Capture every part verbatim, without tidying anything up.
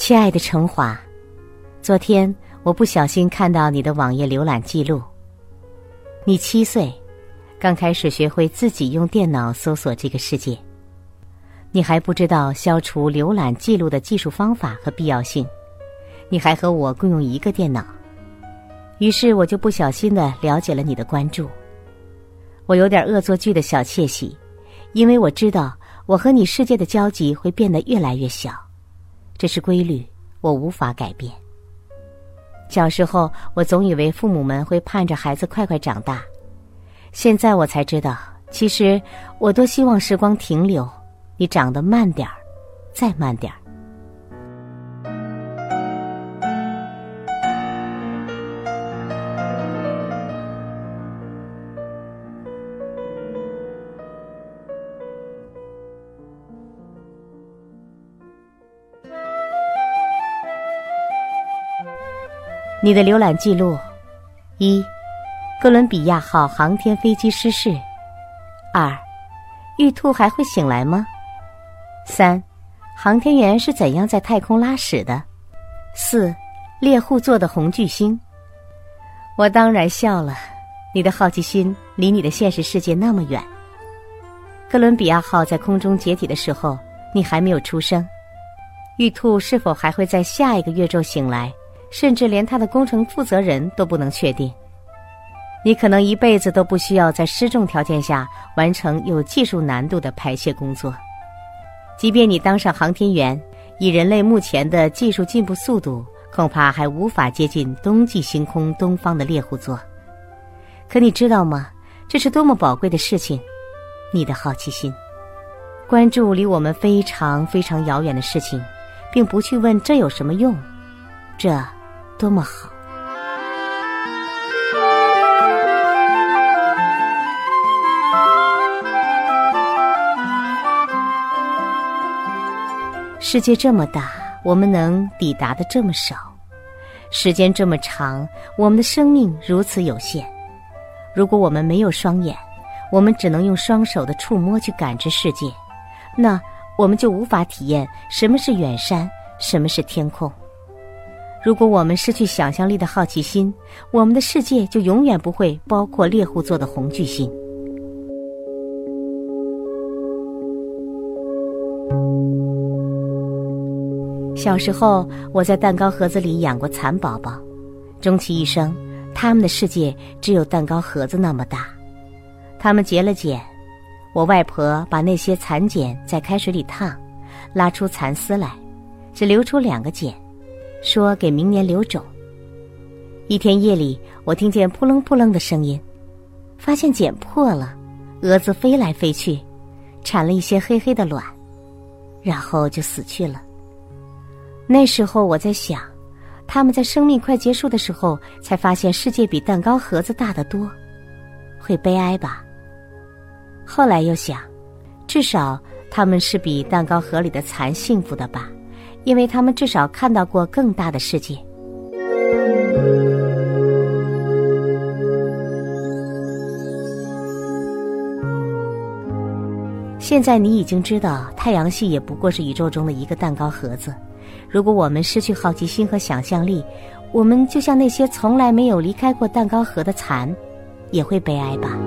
亲爱的程华，昨天我不小心看到你的网页浏览记录。你七岁，刚开始学会自己用电脑搜索这个世界。你还不知道消除浏览记录的技术方法和必要性，你还和我共用一个电脑。于是我就不小心地了解了你的关注。我有点恶作剧的小窃喜，因为我知道我和你世界的交集会变得越来越小，这是规律，我无法改变。小时候我总以为父母们会盼着孩子快快长大，现在我才知道，其实我多希望时光停留，你长得慢点儿，再慢点儿。你的浏览记录：一、哥伦比亚号航天飞机失事；二、玉兔还会醒来吗？三、航天员是怎样在太空拉屎的？四、猎户座的红巨星。我当然笑了，你的好奇心离你的现实世界那么远。哥伦比亚号在空中解体的时候，你还没有出生。玉兔是否还会在下一个月昼醒来，甚至连他的工程负责人都不能确定。你可能一辈子都不需要在失重条件下完成有技术难度的排泄工作。即便你当上航天员，以人类目前的技术进步速度，恐怕还无法接近冬季星空东方的猎户座。可你知道吗？这是多么宝贵的事情，你的好奇心。关注离我们非常非常遥远的事情，并不去问这有什么用，这多么好。世界这么大，我们能抵达的这么少；时间这么长，我们的生命如此有限。如果我们没有双眼，我们只能用双手的触摸去感知世界，那我们就无法体验什么是远山，什么是天空。如果我们失去想象力的好奇心，我们的世界就永远不会包括猎户座的红巨星。小时候，我在蛋糕盒子里养过蚕宝宝，终其一生，他们的世界只有蛋糕盒子那么大。他们结了茧，我外婆把那些蚕茧在开水里烫，拉出蚕丝来，只留出两个茧，说给明年留种。一天夜里，我听见扑棱扑棱的声音，发现茧破了，蛾子飞来飞去，产了一些黑黑的卵，然后就死去了。那时候我在想，他们在生命快结束的时候才发现世界比蛋糕盒子大得多，会悲哀吧？后来又想，至少他们是比蛋糕盒里的蚕幸福的吧，因为他们至少看到过更大的世界。现在你已经知道，太阳系也不过是宇宙中的一个蛋糕盒子。如果我们失去好奇心和想象力，我们就像那些从来没有离开过蛋糕盒的蚕，也会悲哀吧。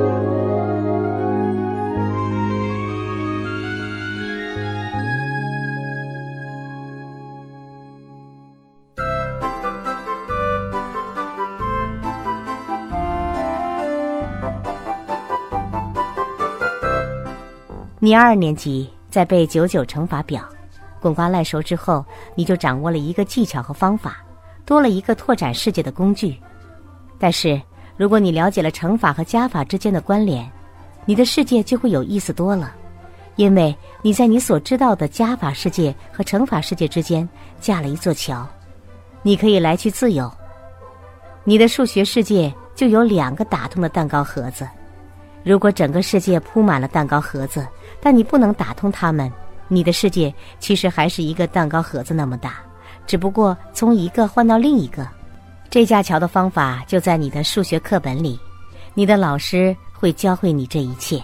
你二年级在背九九乘法表，滚瓜烂熟之后，你就掌握了一个技巧和方法，多了一个拓展世界的工具。但是如果你了解了乘法和加法之间的关联，你的世界就会有意思多了，因为你在你所知道的加法世界和乘法世界之间架了一座桥，你可以来去自由。你的数学世界就有两个打通的蛋糕盒子。如果整个世界铺满了蛋糕盒子，但你不能打通它们，你的世界其实还是一个蛋糕盒子那么大，只不过从一个换到另一个。这架桥的方法就在你的数学课本里，你的老师会教会你这一切。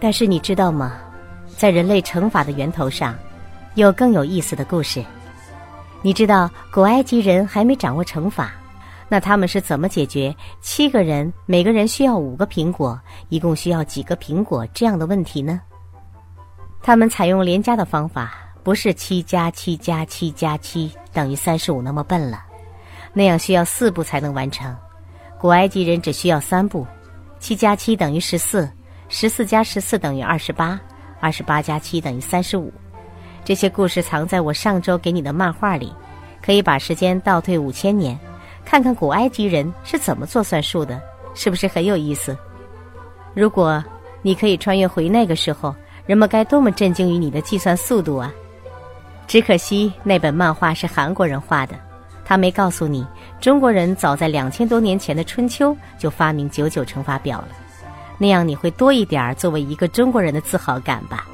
但是你知道吗？在人类惩罚的源头上，有更有意思的故事。你知道古埃及人还没掌握惩罚，那他们是怎么解决七个人每个人需要五个苹果，一共需要几个苹果这样的问题呢？他们采用连加的方法，不是七加七加七加七等于三十五那么笨了，那样需要四步才能完成。古埃及人只需要三步，七加七等于十四，十四加十四等于二十八，二十八加七等于三十五。这些故事藏在我上周给你的漫画里，可以把时间倒退五千年，看看古埃及人是怎么做算术的，是不是很有意思？如果你可以穿越回那个时候，人们该多么震惊于你的计算速度啊！只可惜那本漫画是韩国人画的，他没告诉你，中国人早在两千多年前的春秋就发明九九乘法表了，那样你会多一点作为一个中国人的自豪感吧。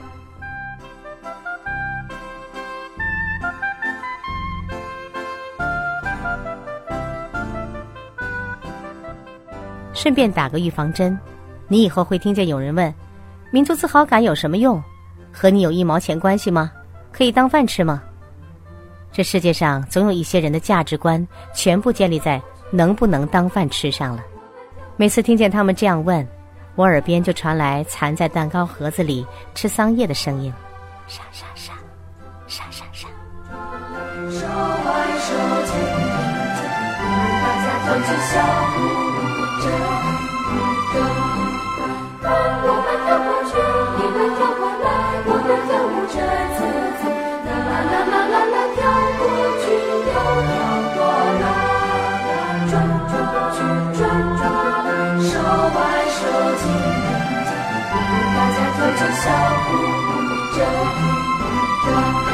顺便打个预防针，你以后会听见有人问，民族自豪感有什么用？和你有一毛钱关系吗？可以当饭吃吗？这世界上总有一些人的价值观全部建立在能不能当饭吃上了。每次听见他们这样问，我耳边就传来藏在蛋糕盒子里吃桑叶的声音，沙沙沙沙沙沙。手挽手牵着，大家都去小舞着着，当我们跳过去，你们跳过来，我们跳舞着自己，啦啦啦啦啦啦，跳过去又跳过来，转转去转转，手挽手牵着，大家跳起小舞着着。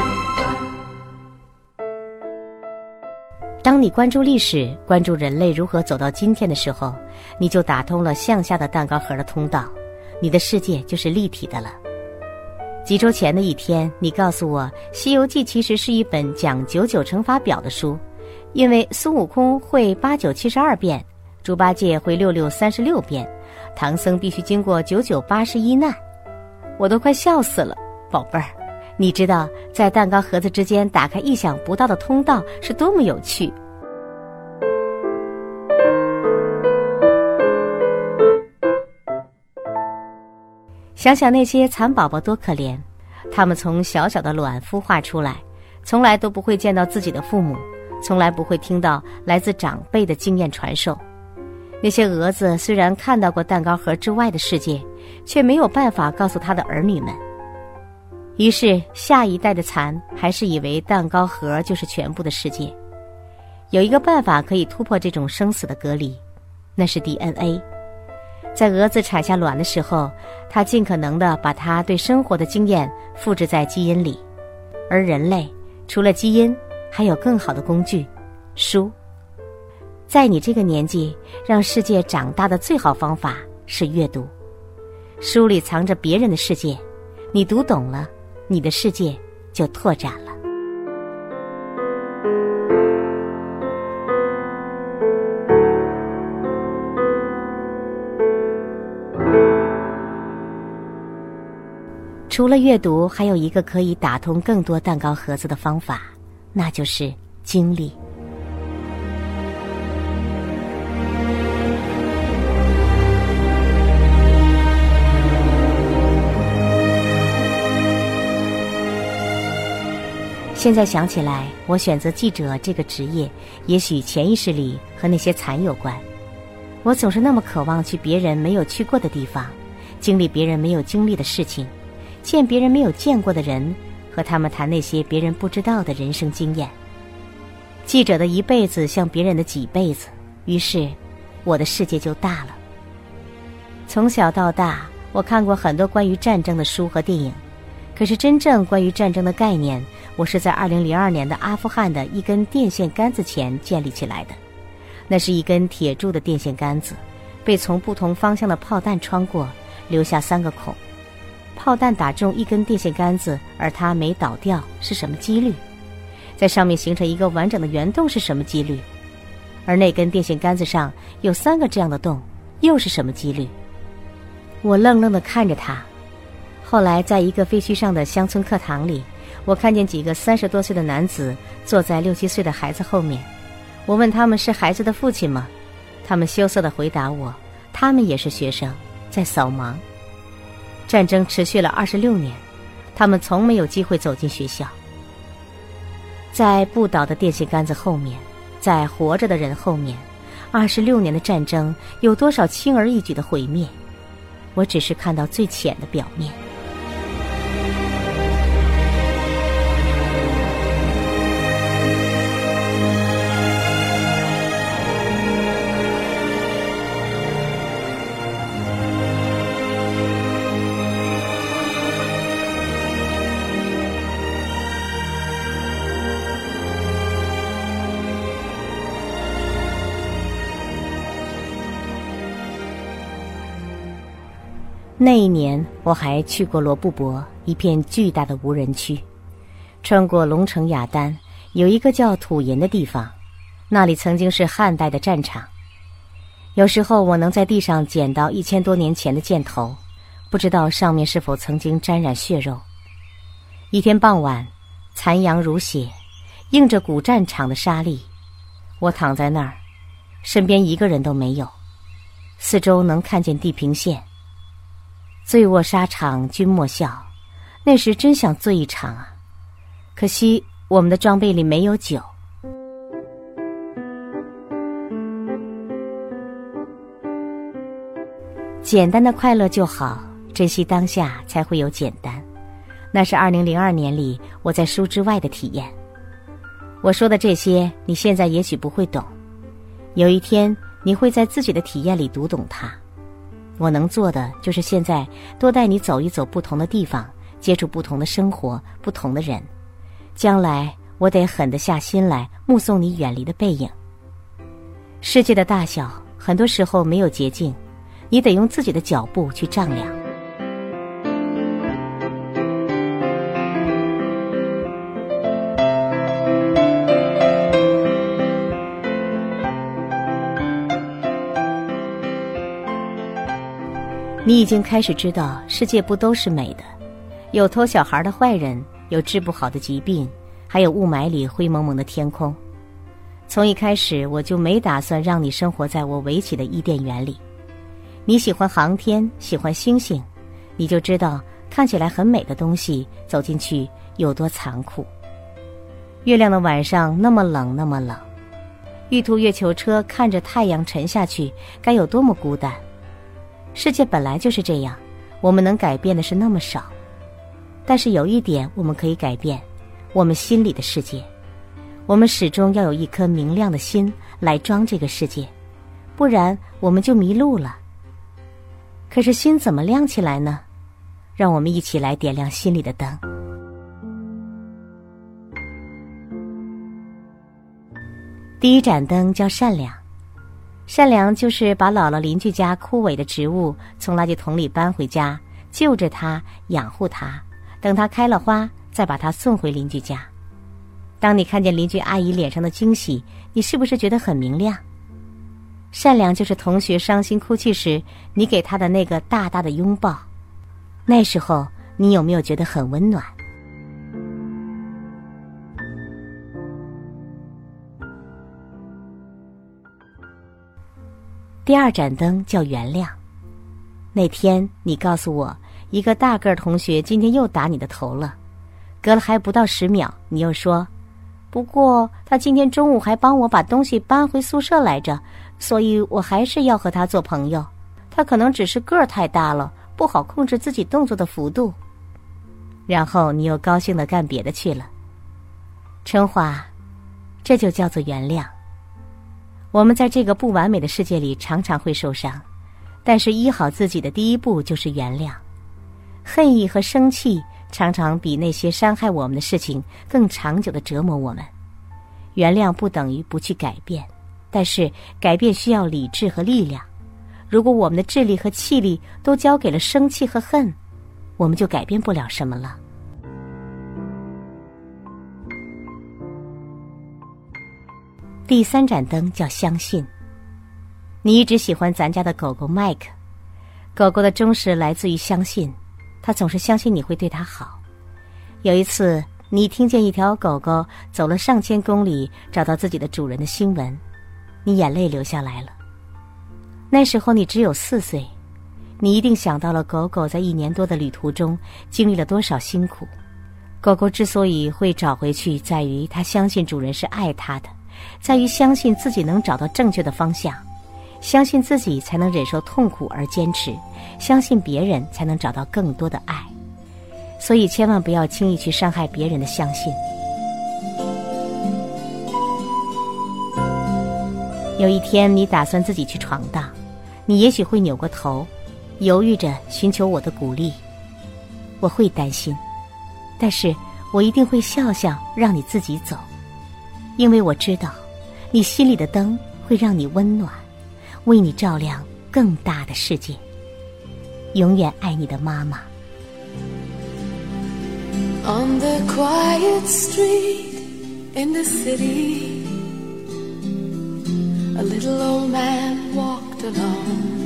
当你关注历史，关注人类如何走到今天的时候，你就打通了向下的蛋糕盒的通道，你的世界就是立体的了。几周前的一天，你告诉我《西游记》其实是一本讲九九乘法表的书，因为孙悟空会八九七十二变，猪八戒会六六三十六变，唐僧必须经过九九八十一难。我都快笑死了，宝贝儿，你知道在蛋糕盒子之间打开意想不到的通道是多么有趣。想想那些蚕宝宝多可怜，他们从小小的卵孵化出来，从来都不会见到自己的父母，从来不会听到来自长辈的经验传授。那些蛾子虽然看到过蛋糕盒之外的世界，却没有办法告诉他的儿女们。于是下一代的蚕还是以为蛋糕盒就是全部的世界。有一个办法可以突破这种生死的隔离，那是 D N A。 在蛾子产下卵的时候，它尽可能地把它对生活的经验复制在基因里，而人类除了基因还有更好的工具，书。在你这个年纪，让世界长大的最好方法是阅读。书里藏着别人的世界，你读懂了，你的世界就拓展了。除了阅读，还有一个可以打通更多蛋糕盒子的方法，那就是经历。现在想起来，我选择记者这个职业，也许潜意识里和那些蚕有关。我总是那么渴望去别人没有去过的地方，经历别人没有经历的事情，见别人没有见过的人，和他们谈那些别人不知道的人生经验。记者的一辈子像别人的几辈子，于是我的世界就大了。从小到大，我看过很多关于战争的书和电影，可是真正关于战争的概念，我是在二零零二年的阿富汗的一根电线杆子前建立起来的。那是一根铁铸的电线杆子，被从不同方向的炮弹穿过，留下三个孔。炮弹打中一根电线杆子，而它没倒掉，是什么几率？在上面形成一个完整的圆洞是什么几率？而那根电线杆子上有三个这样的洞，又是什么几率？我愣愣地看着它， 后来在一个废墟上的乡村课堂里，我看见几个三十多岁的男子坐在六七岁的孩子后面。我问他们是孩子的父亲吗？他们羞涩地回答我，他们也是学生，在扫盲。战争持续了二十六年，他们从没有机会走进学校。在不倒的电线杆子后面，在活着的人后面，二十六年的战争有多少轻而易举的毁灭？我只是看到最浅的表面。那一年我还去过罗布泊，一片巨大的无人区。穿过龙城雅丹，有一个叫土银的地方，那里曾经是汉代的战场。有时候我能在地上捡到一千多年前的箭头，不知道上面是否曾经沾染血肉。一天傍晚，残阳如血，映着古战场的沙砾，我躺在那儿，身边一个人都没有，四周能看见地平线。醉卧沙场君莫笑，那时真想醉一场啊！可惜我们的装备里没有酒。简单的快乐就好，珍惜当下才会有简单。那是二零零二年里我在书之外的体验。我说的这些，你现在也许不会懂，有一天你会在自己的体验里读懂它。我能做的就是现在多带你走一走不同的地方，接触不同的生活，不同的人。将来我得狠得下心来目送你远离的背影。世界的大小很多时候没有捷径，你得用自己的脚步去丈量。你已经开始知道世界不都是美的，有偷小孩的坏人，有治不好的疾病，还有雾霾里灰蒙蒙的天空。从一开始我就没打算让你生活在我围起的伊甸园里。你喜欢航天，喜欢星星，你就知道看起来很美的东西走进去有多残酷。月亮的晚上那么冷那么冷，玉兔月球车看着太阳沉下去该有多么孤单。世界本来就是这样，我们能改变的是那么少。但是有一点我们可以改变，我们心里的世界。我们始终要有一颗明亮的心来装这个世界，不然我们就迷路了。可是心怎么亮起来呢？让我们一起来点亮心里的灯。第一盏灯叫善良。善良就是把姥姥邻居家枯萎的植物从垃圾桶里搬回家，救着它，养护它，等它开了花，再把它送回邻居家。当你看见邻居阿姨脸上的惊喜，你是不是觉得很明亮？善良就是同学伤心哭泣时，你给他的那个大大的拥抱，那时候你有没有觉得很温暖？第二盏灯叫原谅。那天你告诉我，一个大个儿同学今天又打你的头了，隔了还不到十秒，你又说，不过他今天中午还帮我把东西搬回宿舍来着，所以我还是要和他做朋友。他可能只是个儿太大了，不好控制自己动作的幅度。然后你又高兴地干别的去了。春华，这就叫做原谅。我们在这个不完美的世界里常常会受伤，但是医好自己的第一步就是原谅。恨意和生气常常比那些伤害我们的事情更长久地折磨我们。原谅不等于不去改变，但是改变需要理智和力量。如果我们的智力和气力都交给了生气和恨，我们就改变不了什么了。第三盏灯叫相信。你一直喜欢咱家的狗狗麦克，狗狗的忠实来自于相信。 他总是相信你会对他好。有一次，你听见一条狗狗走了上千公里找到自己的主人的新闻，你眼泪流下来了。那时候你只有四岁，你一定想到了狗狗在一年多的旅途中经历了多少辛苦。狗狗之所以会找回去，在于它相信主人是爱它的，在于相信自己能找到正确的方向，相信自己才能忍受痛苦而坚持，相信别人才能找到更多的爱。所以千万不要轻易去伤害别人的相信。有一天你打算自己去闯荡，你也许会扭过头，犹豫着寻求我的鼓励。我会担心，但是我一定会笑笑让你自己走，因为我知道你心里的灯会让你温暖，为你照亮更大的世界。永远爱你的妈妈。 On the quiet street in the city, a little old man walked alone,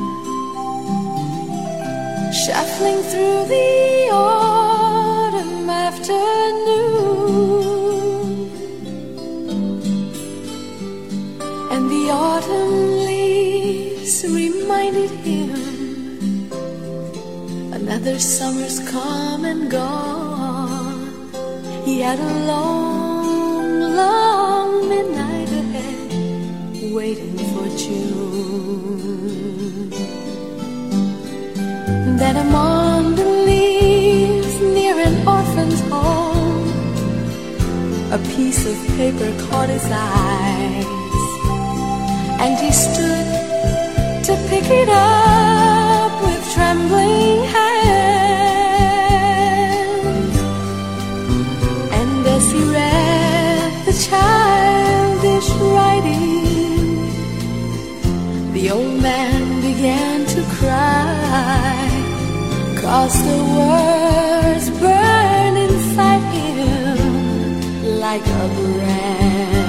shuffling through the autumn afternoon, and the autumn leaves reminded him another summer's come and gone. He had a long, long midnight ahead, waiting for June. Then among the leaves near an orphan's home, a piece of paper caught his eyes, and he stood to pick it up with trembling hands. And as he read the childish writing, the old man began to cry, 'cause the words burned inside him like a brand.